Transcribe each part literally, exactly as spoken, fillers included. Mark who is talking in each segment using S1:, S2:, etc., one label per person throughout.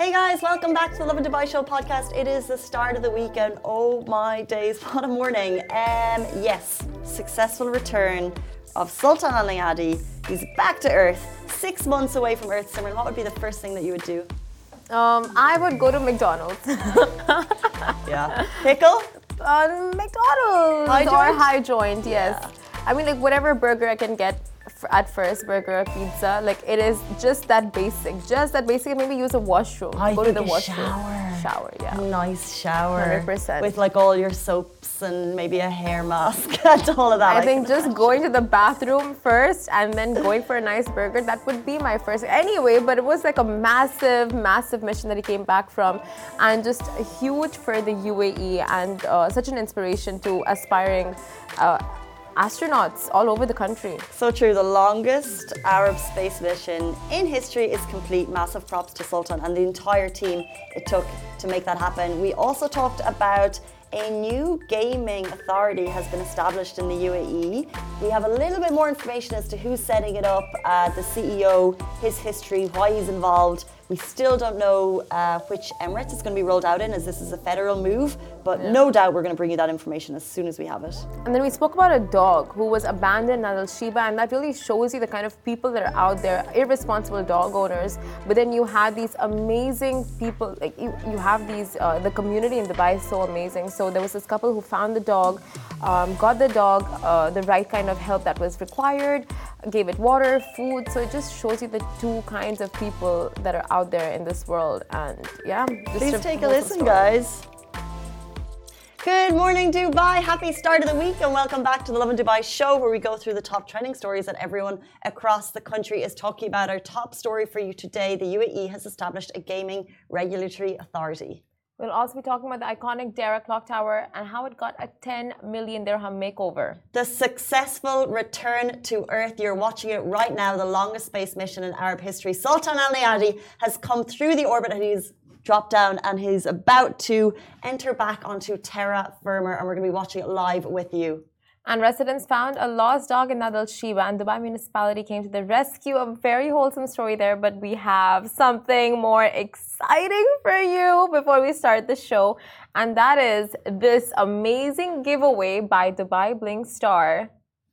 S1: Hey guys, welcome back to the Lovin Dubai Show podcast. It is the start of the weekend. Oh my days, what a morning. Um, yes, successful return of Sultan Al Neyadi. He's back to Earth, six months away from Earth. Simran, what would be the first thing that you would do?
S2: Um, I would go to McDonald's.
S1: Yeah. Pickle?
S2: Um, McDonald's
S1: High
S2: or
S1: joint?
S2: high joint, yes.
S1: Yeah.
S2: I mean, like whatever burger I can get f- at first, burger or pizza, like it is just that basic, just that basic. Maybe use a washroom.
S1: I
S2: go
S1: think
S2: to the
S1: a
S2: washroom.
S1: shower.
S2: Shower, yeah.
S1: A nice shower.
S2: one hundred percent.
S1: With like all your soaps and maybe a hair mask and all of that.
S2: I think just going to the bathroom first and then going for a nice burger, that would be my first. Anyway, but it was like a massive, massive mission that he came back from, and just huge for the U A E and uh, such an inspiration to aspiring uh, astronauts all over the country.
S1: So true. The longest Arab space mission in history is complete. Massive props to Sultan and the entire team it took to make that happen. We also talked about a new gaming authority has been established in the U A E. We have a little bit more information as to who's setting it up, uh, the C E O, his history, why he's involved. We still don't know uh, which Emirates it's going to be rolled out in, as this is a federal move, but
S2: Yeah.
S1: no doubt we're going to bring you that information as soon as we have it.
S2: And then we spoke about a dog who was abandoned at Al Shiba, and that really shows you the kind of people that are out there, irresponsible dog owners. But then you have these amazing people, like you, you have these, uh, the community in Dubai is so amazing. So there was this couple who found the dog, um, got the dog uh, the right kind of help that was required, gave it water, food. So it just shows you the two kinds of people that are out there in this world. And yeah, just
S1: Please take a
S2: wholesome
S1: listen,
S2: story.
S1: guys. Good morning, Dubai. Happy start of the week and welcome back to the Lovin Dubai show, where we go through the top trending stories that everyone across the country is talking about. Our top story for you today, the U A E has established a gaming regulatory authority.
S2: We'll also be talking about the iconic Dara Clock Tower and how it got a ten million dirham makeover.
S1: The successful return to Earth. You're watching it right now, the longest space mission in Arab history. Sultan Al Neyadi has come through the orbit and he's dropped down and he's about to enter back onto terra firma, and we're going to be watching it live with you.
S2: And residents found a lost dog in Nadal Shiba, and Dubai municipality came to the rescue. A very wholesome story there, but we have something more exciting for you before we start the show, and that is this amazing giveaway by Dubai Bling star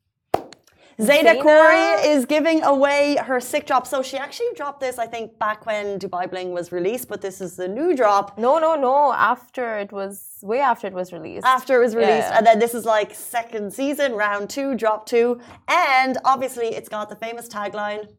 S1: Zayda
S2: Zaina.
S1: Khoury is giving away her sick drop. So she actually dropped this, I think, back when Dubai Bling was released, but this is the new drop
S2: No, no, no. After it was, way after it was released.
S1: after it was released.
S2: Yeah.
S1: And then this is like second season, round two, drop two. And obviously it's got the famous tagline,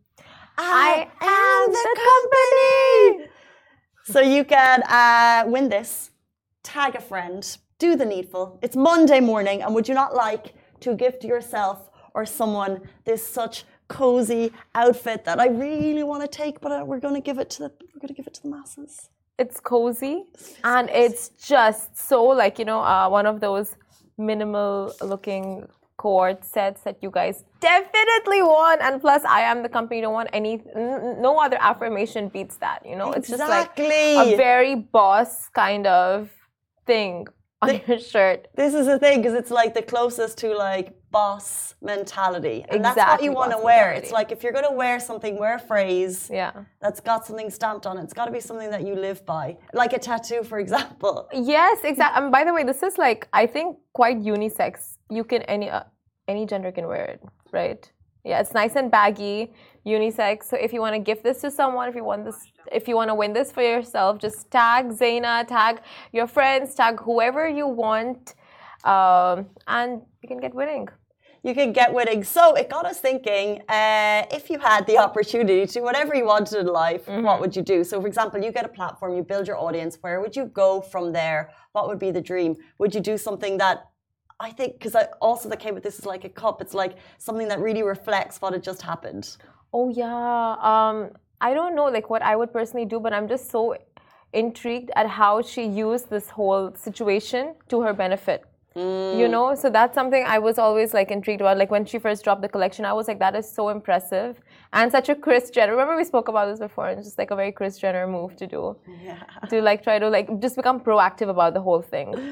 S1: I, am the company. So you can uh, win this, tag a friend, do the needful. It's Monday morning, and would you not like to gift yourself or someone this such cozy outfit that I really want to take, but uh, we're going to give it to the we're going to give it to the masses.
S2: It's cozy, and it's just so like, you know, uh, one of those minimal looking cord sets that you guys definitely want. And plus, I am the company. Don't want any, n- no other affirmation beats that. You know, it's just like
S1: Exactly.
S2: a very boss kind of thing on
S1: The-
S2: your shirt.
S1: This is the thing, because it's like the closest to like boss mentality, and that's what
S2: Exactly,
S1: you want to
S2: boss
S1: wear.
S2: mentality.
S1: It's like if you're going to wear something, wear a phrase
S2: Yeah.
S1: that's got something stamped on it. It's got to be something that you live by, like a tattoo, for example.
S2: Yes, exactly. And by the way, this is like, I think, quite unisex. You can any uh, any gender can wear it, right? Yeah, it's nice and baggy, unisex. So if you want to gift this to someone, if you want this, if you want to win this for yourself, just tag Zaina, tag your friends, tag whoever you want, um, and you can get winning.
S1: You could get winning. So it got us thinking, uh, if you had the opportunity to do whatever you wanted in life,
S2: Mm-hmm.
S1: what would you do? So, for example, you get a platform, you build your audience. Where would you go from there? What would be the dream? Would you do something that, I think, because I also that came with this is like a cup. It's like something that really reflects what had just happened.
S2: Oh yeah. Um, I don't know like what I would personally do, but I'm just so intrigued at how she used this whole situation to her benefit. You know, so that's something I was always like intrigued about. Like when she first dropped the collection, I was like, that is so impressive and such a Kris Jenner. Remember we spoke about this before, and it's just like a very Kris Jenner move to do.
S1: Yeah.
S2: To like try to like just become proactive about the whole thing.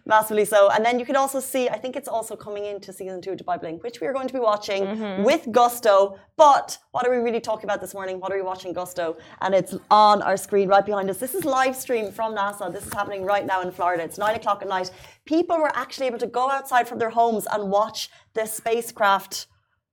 S1: Massively so. And then you can also see, I think it's also coming into season two of Dubai Bling, which we are going to be watching mm-hmm. with gusto. But what are we really talking about this morning? What are we watching gusto? And it's on our screen right behind us. This is live stream from NASA. This is happening right now in Florida. It's nine o'clock at night. People were actually able to go outside from their homes and watch the spacecraft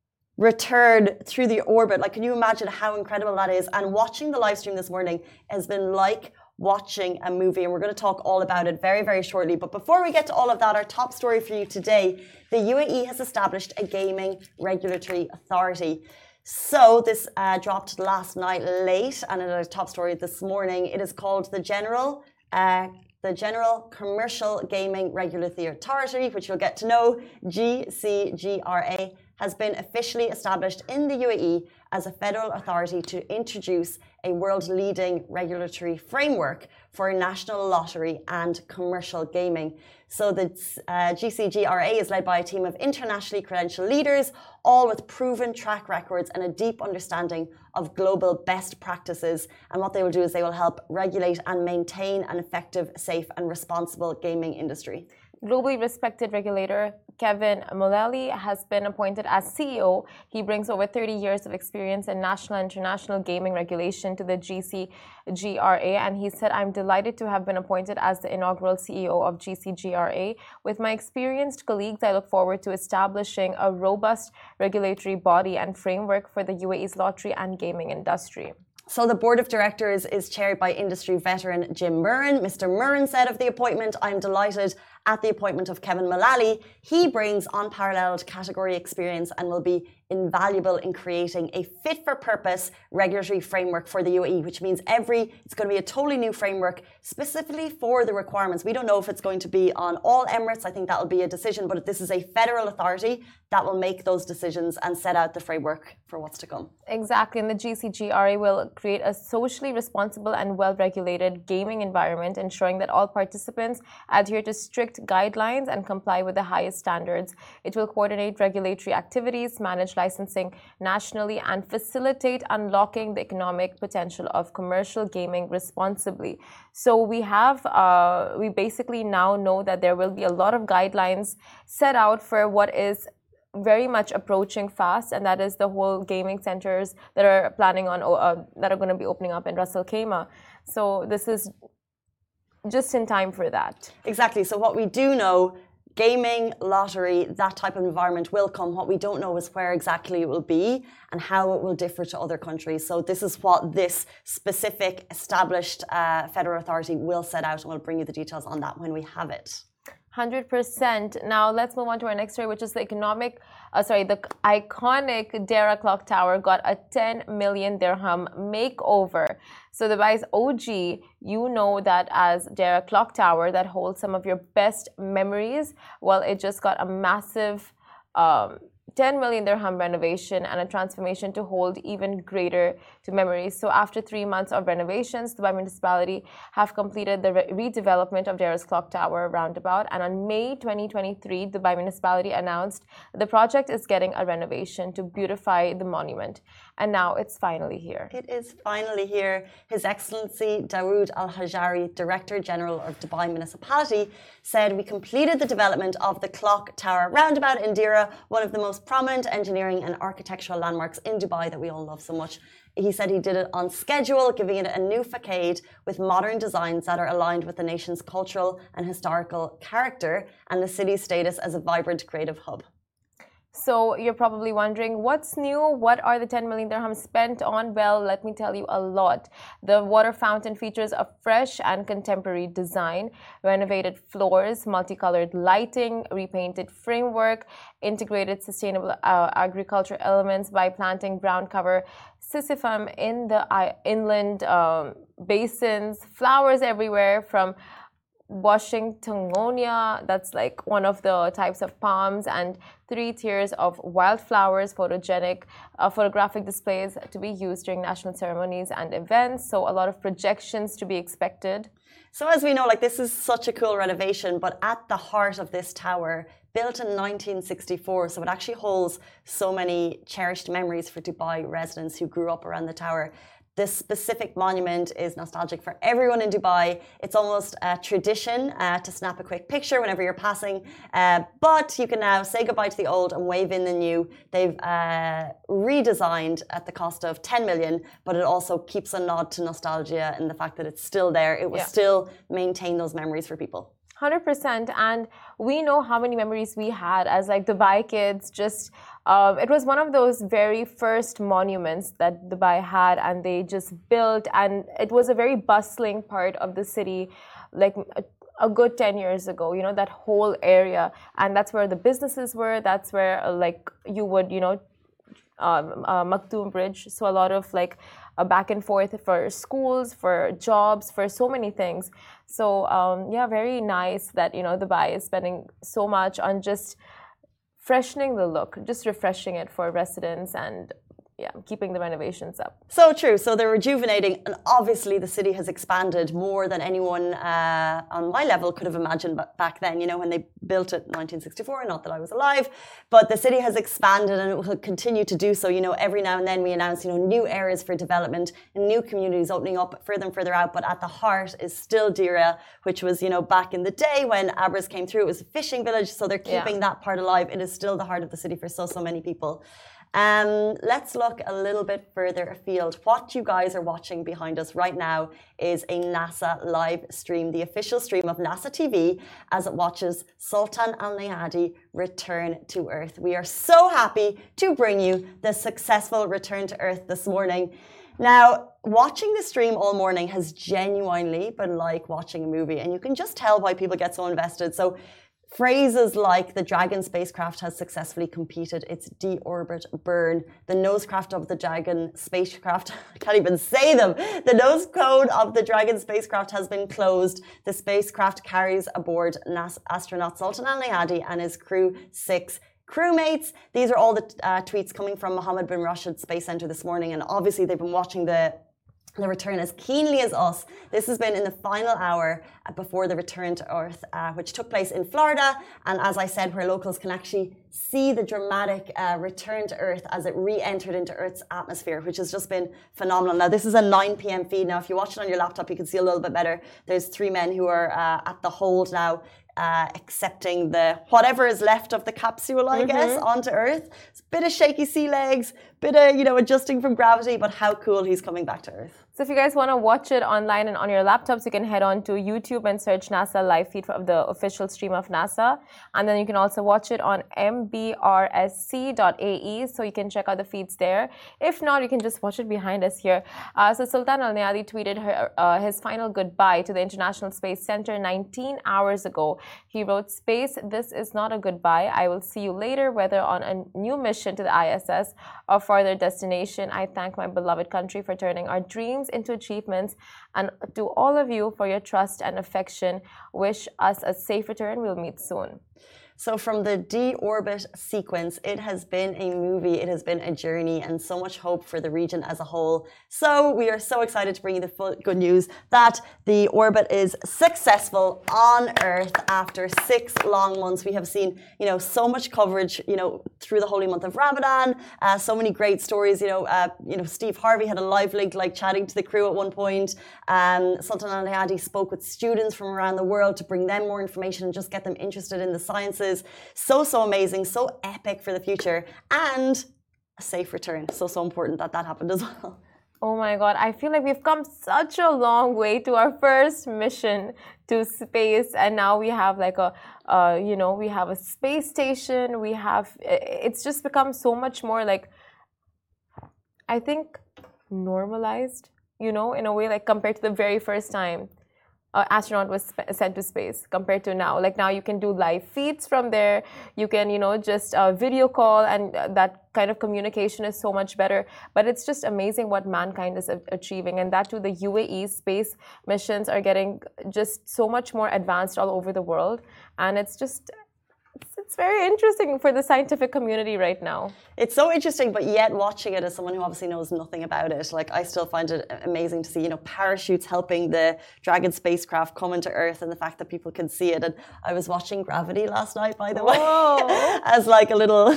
S1: return through the orbit. Like, can you imagine how incredible that is? And watching the live stream this morning has been like watching a movie, and we're going to talk all about it very, very shortly. But before we get to all of that, our top story for you today, the U A E has established a gaming regulatory authority. So this uh, dropped last night late, and in our top story this morning, it is called the General uh, the General Commercial Gaming Regulatory Authority, which you'll get to know, G C G R A, has been officially established in the U A E as a federal authority to introduce a world-leading regulatory framework for national lottery and commercial gaming. So the uh, G C G R A is led by a team of internationally credentialed leaders, all with proven track records and a deep understanding of global best practices. And what they will do is they will help regulate and maintain an effective, safe and responsible gaming industry.
S2: Globally respected regulator Kevin Mullally has been appointed as C E O. He brings over thirty years of experience in national and international gaming regulation to the G C G R A, and he said, "I'm delighted to have been appointed as the inaugural C E O of G C G R A. With my experienced colleagues, I look forward to establishing a robust regulatory body and framework for the U A E's lottery and gaming industry."
S1: So the board of directors is chaired by industry veteran Jim Murren. Mister Murren said of the appointment, "I'm delighted at the appointment of Kevin Mullally. He brings unparalleled category experience and will be invaluable in creating a fit-for-purpose regulatory framework for the U A E, which means every it's going to be a totally new framework specifically for the requirements. We don't know if it's going to be on all Emirates. I think that will be a decision, but this is a federal authority that will make those decisions and set out the framework for what's to come.
S2: Exactly, and the G C G R A will create a socially responsible and well-regulated gaming environment, ensuring that all participants adhere to strict guidelines and comply with the highest standards. It will coordinate regulatory activities, manage licensing nationally, and facilitate unlocking the economic potential of commercial gaming responsibly. So we have, uh, we basically now know that there will be a lot of guidelines set out for what is very much approaching fast, and that is the whole gaming centers that are planning on, uh, that are going to be opening up in Ras Al Khaimah. So this is just in time for that.
S1: Exactly. So what we do know, gaming, lottery, that type of environment will come. What we don't know is where exactly it will be and how it will differ to other countries. So this is what this specific established uh, federal authority will set out, and we'll bring you the details on that when we have it.
S2: one hundred percent. Now let's move on to our next story, which is the economic, uh, sorry, the iconic Deira Clock Tower got a ten million dirham makeover. So Dubai's O G, you know that as Deira Clock Tower that holds some of your best memories. Well, it just got a massive um, ten million dirham renovation and a transformation to hold even greater to memories. So after three months of renovations, Dubai Municipality have completed the re redevelopment of Deira's Clock Tower roundabout, and on May twenty twenty-three, Dubai Municipality announced that the project is getting a renovation to beautify the monument. And now it's finally here.
S1: It is finally here. His Excellency Dawood Al-Hajari, Director General of Dubai Municipality, said, "We completed the development of the Clock Tower roundabout in Deira, one of the most prominent engineering and architectural landmarks in Dubai that we all love so much." He said he did it on schedule, giving it a new facade with modern designs that are aligned with the nation's cultural and historical character and the city's status as a vibrant creative hub.
S2: So you're probably wondering, what's new? What are the ten million dirhams spent on? Well, let me tell you a lot. The water fountain features a fresh and contemporary design, renovated floors, multicolored lighting, repainted framework, integrated sustainable uh, agriculture elements by planting brown cover sisyphum in the uh, inland um, basins, flowers everywhere from Washingtonia, that's like one of the types of palms, and three tiers of wildflowers, photogenic uh, photographic displays to be used during national ceremonies and events. So a lot of projections to be expected.
S1: So as we know, like, this is such a cool renovation, but at the heart of this tower, built in nineteen sixty-four, so it actually holds so many cherished memories for Dubai residents who grew up around the tower. this specific monument is nostalgic for everyone in Dubai. It's almost a tradition uh, to snap a quick picture whenever you're passing. Uh, but you can now say goodbye to the old and wave in the new. They've uh, redesigned at the cost of ten million, but it also keeps a nod to nostalgia and the fact that it's still there. It will yeah. still maintain those memories for people.
S2: one hundred percent. And we know how many memories we had as like Dubai kids. Just uh, it was one of those very first monuments that Dubai had, and they just built, and it was a very bustling part of the city, like a, a good ten years ago, you know, that whole area. And that's where the businesses were. That's where uh, like you would, you know, um, uh, Maktoum Bridge. So a lot of like Uh, back and forth for schools, for jobs, for so many things. So um, yeah, very nice that, you know, Dubai is spending so much on just freshening the look, just refreshing it for residents and yeah, keeping the renovations up.
S1: So true. So they're rejuvenating, and obviously the city has expanded more than anyone uh, on my level could have imagined back then, you know, when they built it in nineteen sixty-four, not that I was alive, but the city has expanded and it will continue to do so. You know, every now and then we announce, you know, new areas for development and new communities opening up further and further out, but at the heart is still Deira, which was, you know, back in the day when Abras came through, it was a fishing village, so they're keeping yeah. that part alive. It is still the heart of the city for so, so many people. Um, let's look a little bit further afield. What you guys are watching behind us right now is a NASA live stream, the official stream of NASA T V as it watches Sultan Al Neyadi return to Earth. We are so happy to bring you the successful return to Earth this morning. Now, watching the stream all morning has genuinely been like watching a movie, and you can just tell why people get so invested. So phrases like the Dragon spacecraft has successfully completed its deorbit burn. The nosecraft of the Dragon spacecraft, I can't even say them. The nose cone of the Dragon spacecraft has been closed. The spacecraft carries aboard NASA astronaut Sultan Al Neyadi and his crew six crewmates. These are all the uh, tweets coming from Mohammed bin Rashid Space Center this morning, and obviously they've been watching the the return as keenly as us. This has been in the final hour before the return to Earth, uh, which took place in Florida. And as I said, where locals can actually see the dramatic uh, return to Earth as it re-entered into Earth's atmosphere, which has just been phenomenal. Now, this is a nine p m feed. Now, if you watch it on your laptop, you can see a little bit better. There's three men who are uh, at the hold now, uh, accepting the whatever is left of the capsule, I mm-hmm. guess, onto Earth. It's a bit of shaky sea legs, bit of, you know, adjusting from gravity, but how cool he's coming back to Earth.
S2: So if you guys want to watch it online and on your laptops, you can head on to YouTube and search NASA live feed of the official stream of NASA. And then you can also watch it on m b r s c dot a e, so you can check out the feeds there. If not, you can just watch it behind us here. Uh, so Sultan Al Neyadi tweeted her, uh, his final goodbye to the International Space Center nineteen hours ago. He wrote, "Space, this is not a goodbye. I will see you later, whether on a new mission to the I S S or farther destination. I thank my beloved country for turning our dreams into achievements, and to all of you for your trust and affection. Wish us a safe return. We'll meet soon."
S1: So from the deorbit sequence, it has been a movie, it has been a journey, and so much hope for the region as a whole. So we are so excited to bring you the full good news that the orbit is successful on Earth after six long months. We have seen, you know, so much coverage, you know, through the holy month of Ramadan, uh, so many great stories. You know, uh, you know, Steve Harvey had a live link, like chatting to the crew at one point. Um, Sultan Al Neyadi spoke with students from around the world to bring them more information and just get them interested in the sciences. So, so amazing, so epic for the future, and a safe return. So, so important that that happened as well.
S2: Oh my God, I feel like we've come such a long way to our first mission to space, and now we have like a, uh, you know, we have a space station. We have, it's just become so much more like, I think, normalized, you know, in a way, like compared to the very first time Uh, astronaut was sent to space compared to now. Like now you can do live feeds from there. You can, you know, just uh, video call, and uh, that kind of communication is so much better. But it's just amazing what mankind is achieving, and that too, the U A E space missions are getting just so much more advanced all over the world, and it's just. It's, it's very interesting for the scientific community right now.
S1: It's so interesting, but yet watching it as someone who obviously knows nothing about it, like I still find it amazing to see, you know, parachutes helping the Dragon spacecraft come into Earth, and the fact that people can see it. And I was watching Gravity last night, by the way, as like a little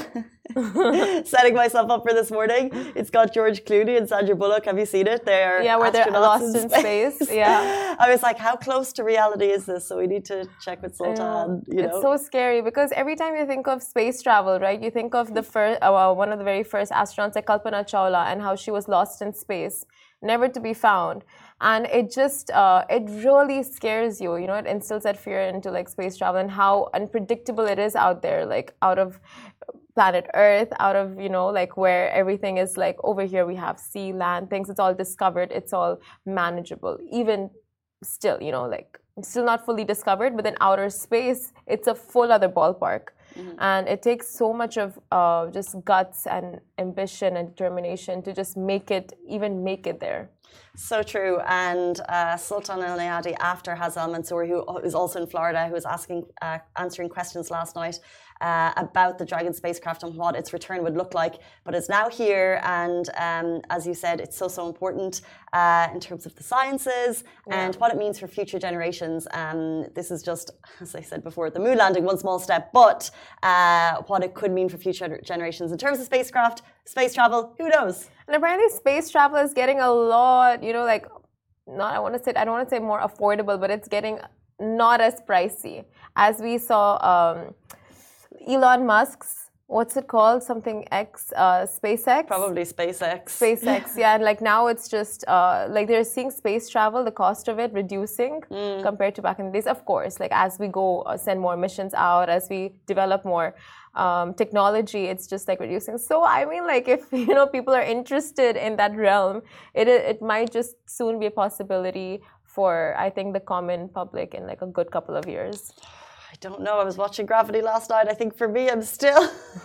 S1: setting myself up for this morning. It's got George Clooney and Sandra Bullock. Have you seen it? They're
S2: yeah, where they're lost in,
S1: in
S2: space. space. Yeah,
S1: I was like, how close to reality is this? So we need to check with Sultan. You know,
S2: it's so scary because every time you think of space travel, right? You think of the first, uh, well, one of the very first astronauts, like Kalpana Chawla, and how she was lost in space, never to be found. And it just, uh, it really scares you, you know, it instills that fear into like space travel and how unpredictable it is out there, like out of planet Earth, out of, you know, like where everything is like over here, we have sea, land, things, it's all discovered, it's all manageable. Even still, you know, like still not fully discovered, but then outer space, it's a full other ballpark. Mm-hmm. And it takes so much of uh, just guts and ambition and determination to just make it, even make it there.
S1: So true. And uh, Sultan Al Nayati, after Hazal Mansour, who is also in Florida, who was asking, uh, answering questions last night uh, about the Dragon spacecraft and what its return would look like. But it's now here, and um, as you said, it's so so important uh, in terms of the sciences yeah. and what it means for future generations. Um, this is just, as I said before, the moon landing, one small step, but uh, what it could mean for future generations in terms of spacecraft, space travel. Who knows?
S2: And apparently space travel is getting a lot, you know, like, not, I want to say, I don't want to say more affordable, but it's getting not as pricey. As we saw um, Elon Musk's, what's it called? Something X, uh, SpaceX?
S1: Probably SpaceX.
S2: SpaceX, yeah. And like now it's just, uh, like they're seeing space travel, the cost of it reducing mm. compared to back in the days. Of course, like as we go uh, send more missions out, as we develop more Um, technology, it's just like reducing. So I mean, like if you know people are interested in that realm, it it might just soon be a possibility for I think the common public in like a good couple of years.
S1: I don't know. I was watching Gravity last night. I think for me, I'm still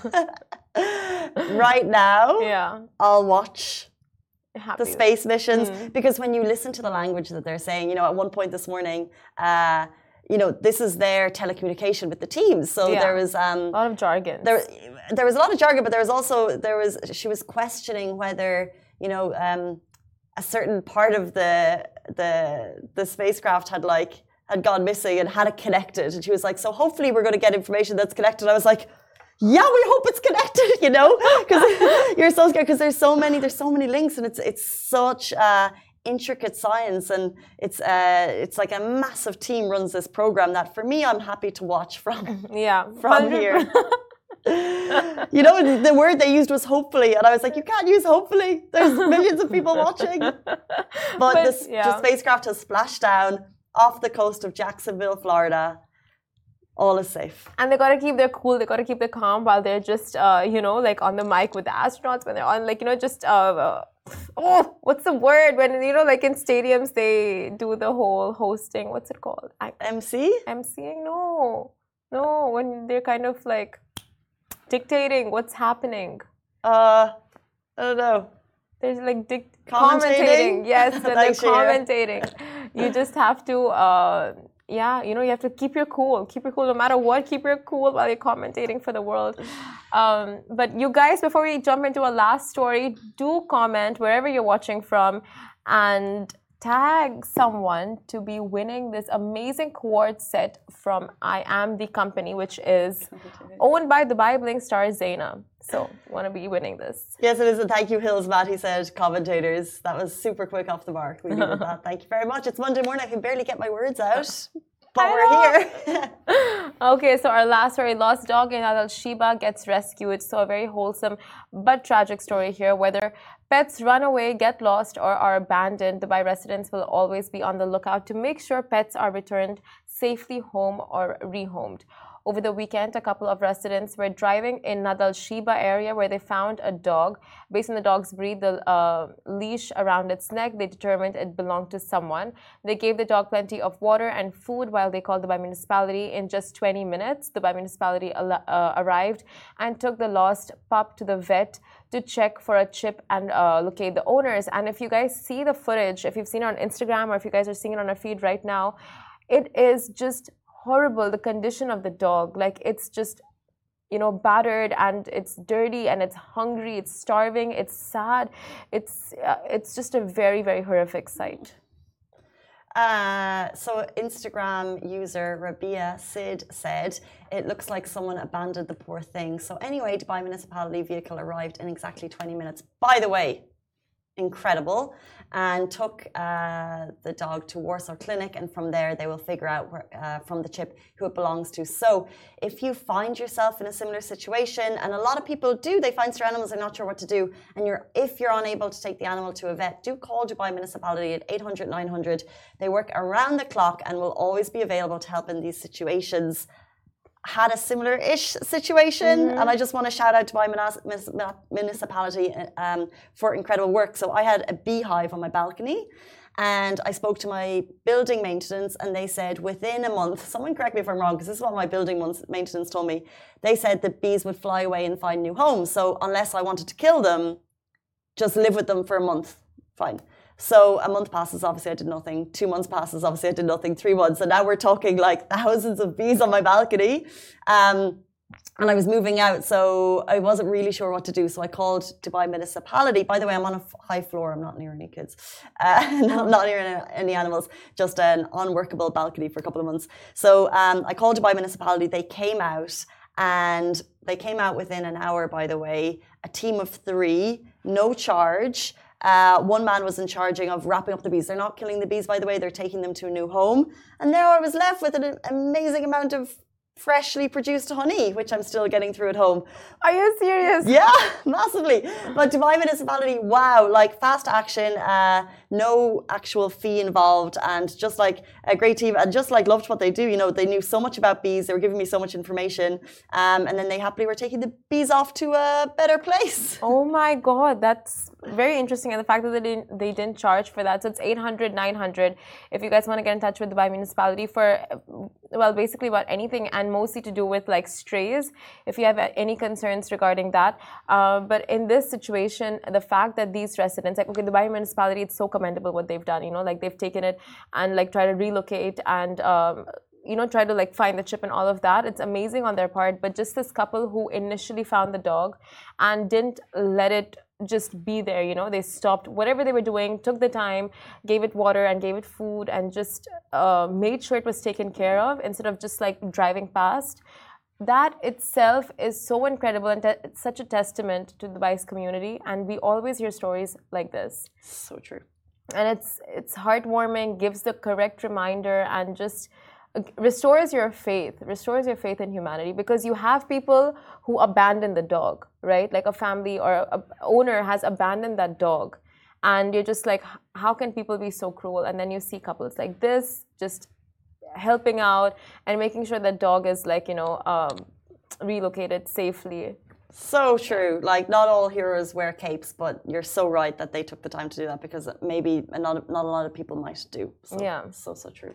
S1: right now.
S2: Yeah,
S1: I'll watch
S2: Happy.
S1: the space missions mm. because when you listen to the language that they're saying, you know, at one point this morning. Uh, You know, this is their telecommunication with the teams. So yeah. there was um,
S2: a lot of jargon.
S1: There, there was a lot of jargon, but there was also there was she was questioning whether you know um, a certain part of the the the spacecraft had like had gone missing and had it connected, and she was like, "So hopefully we're going to get information that's connected." I was like, "Yeah, we hope it's connected," you know, because you're so scared because there's so many there's so many links, and it's it's such. Uh, intricate science, and it's uh, it's like a massive team runs this program that for me I'm happy to watch from
S2: yeah
S1: from here. You know, the word they used was hopefully, and I was like, you can't use hopefully. There's millions of people watching. But, but the, yeah. the spacecraft has splashed down off the coast of Jacksonville, Florida. All is safe.
S2: And they got to keep their cool, they got to keep their calm while they're just, uh, you know, like on the mic with the astronauts when they're on, like, you know, just, uh, uh, oh, what's the word? When, you know, like in stadiums, they do the whole hosting. What's it called? I,
S1: M C?
S2: MCing? No. No, when they're kind of like dictating what's happening.
S1: Uh, I don't know.
S2: There's like dic-
S1: commentating.
S2: commentating. Yes, when they're commentating. You just have to... Uh, Yeah, you know, you have to keep your cool. Keep your cool no matter what. Keep your cool while you're commentating for the world. Um, but you guys, before we jump into our last story, do comment wherever you're watching from and tag someone to be winning this amazing quartz set from I Am The Company, which is owned by the Bibling star Zaina. So, want to be winning this.
S1: Yes, it is. And thank you, Hills Matt. He said commentators. That was super quick off the mark. We needed that. Thank you very much. It's Monday morning. I can barely get my words out. But we're here.
S2: Okay, so our last story, lost dog in Al Shiba gets rescued. So a very wholesome but tragic story here. Whether pets run away, get lost, or are abandoned, Dubai residents will always be on the lookout to make sure pets are returned safely home or rehomed. Over the weekend, a couple of residents were driving in Nadal Shiba area where they found a dog. Based on the dog's breed, the uh, leash around its neck, they determined it belonged to someone. They gave the dog plenty of water and food while they called the Dubai municipality. In just twenty minutes, the Dubai municipality uh, arrived and took the lost pup to the vet to check for a chip and uh, locate the owners. And if you guys see the footage, if you've seen it on Instagram or if you guys are seeing it on our feed right now, it is just horrible, the condition of the dog. Like, it's just, you know, battered and it's dirty and it's hungry, it's starving, it's sad. It's uh, it's just a very, very horrific sight.
S1: Uh, so Instagram user Rabia Sid said, it looks like someone abandoned the poor thing. So anyway, Dubai municipality vehicle arrived in exactly twenty minutes. By the way, incredible. And took uh, the dog to Warsaw Clinic, and from there they will figure out where, uh, from the chip who it belongs to. So if you find yourself in a similar situation, and a lot of people do, they find their animals, they're not sure what to do, and you're if you're unable to take the animal to a vet, do call Dubai Municipality at eight hundred nine hundred. They work around the clock and will always be available to help in these situations. Had a similar-ish situation, mm-hmm. and I just want to shout out to my municipality um, for incredible work. So I had a beehive on my balcony, and I spoke to my building maintenance, and they said within a month, someone correct me if I'm wrong, because this is what my building maintenance told me, they said the bees would fly away and find new homes. So unless I wanted to kill them, just live with them for a month, fine. So a month passes, obviously I did nothing. Two months passes, obviously I did nothing. Three months, and now we're talking like thousands of bees on my balcony. Um, and I was moving out, so I wasn't really sure what to do. So I called Dubai Municipality. By the way, I'm on a high floor. I'm not near any kids, uh, not, not near any animals, just an unworkable balcony for a couple of months. So um, I called Dubai Municipality. They came out, and they came out within an hour, by the way, a team of three, no charge. Uh, one man was in charge of wrapping up the bees. They're not killing the bees, by the way. They're taking them to a new home. And now I was left with an amazing amount of freshly produced honey, which I'm still getting through at home.
S2: Are you serious?
S1: Yeah, massively. But Dubai Municipality, wow, like fast action, uh, no actual fee involved, and just like a great team, and just like loved what they do. You know, they knew so much about bees. They were giving me so much information, um, and then they happily were taking the bees off to a better place.
S2: Oh my God, that's very interesting. And the fact that they didn't, they didn't charge for that. So it's eight hundred nine hundred if you guys want to get in touch with Dubai Municipality for, well, basically about anything, and mostly to do with like strays, if you have any concerns regarding that. Uh, but in this situation, the fact that these residents, like, okay, the Dubai Municipality, it's so commendable what they've done, you know, like they've taken it and like try to relocate and, um, you know, try to like find the chip and all of that. It's amazing on their part. But just this couple who initially found the dog and didn't let it just be there, you know, they stopped whatever they were doing, took the time, gave it water and gave it food, and just uh, made sure it was taken care of instead of just like driving past. That itself is so incredible, and it's such a testament to the Dubai's community, and we always hear stories like this.
S1: So true.
S2: And it's it's heartwarming, gives the correct reminder, and just restores your faith, restores your faith in humanity, because you have people who abandon the dog, right? Like a family or a owner has abandoned that dog, and you're just like, how can people be so cruel? And then you see couples like this just helping out and making sure that dog is like, you know, um, relocated safely.
S1: So true. Like, not all heroes wear capes, but you're so right that they took the time to do that, because maybe not, not a lot of people might do. So,
S2: yeah.
S1: So, so true.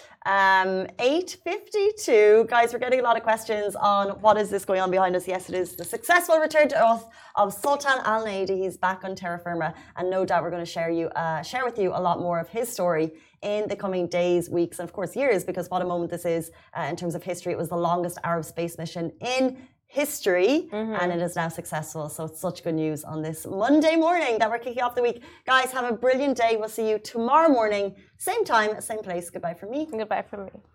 S1: Um, eight fifty-two. Guys, we're getting a lot of questions on what is this going on behind us. Yes, it is the successful return to earth of Sultan Al Nahyan. He's back on terra firma, and no doubt we're going to share you, uh, share with you a lot more of his story in the coming days, weeks, and of course years, because what a moment this is uh, in terms of history. It was the longest Arab space mission in history, mm-hmm. and it is now successful. So it's such good news on this Monday morning that we're kicking off the week. Guys, have a brilliant day. We'll see you tomorrow morning, same time, same place. Goodbye from me.
S2: Goodbye from me.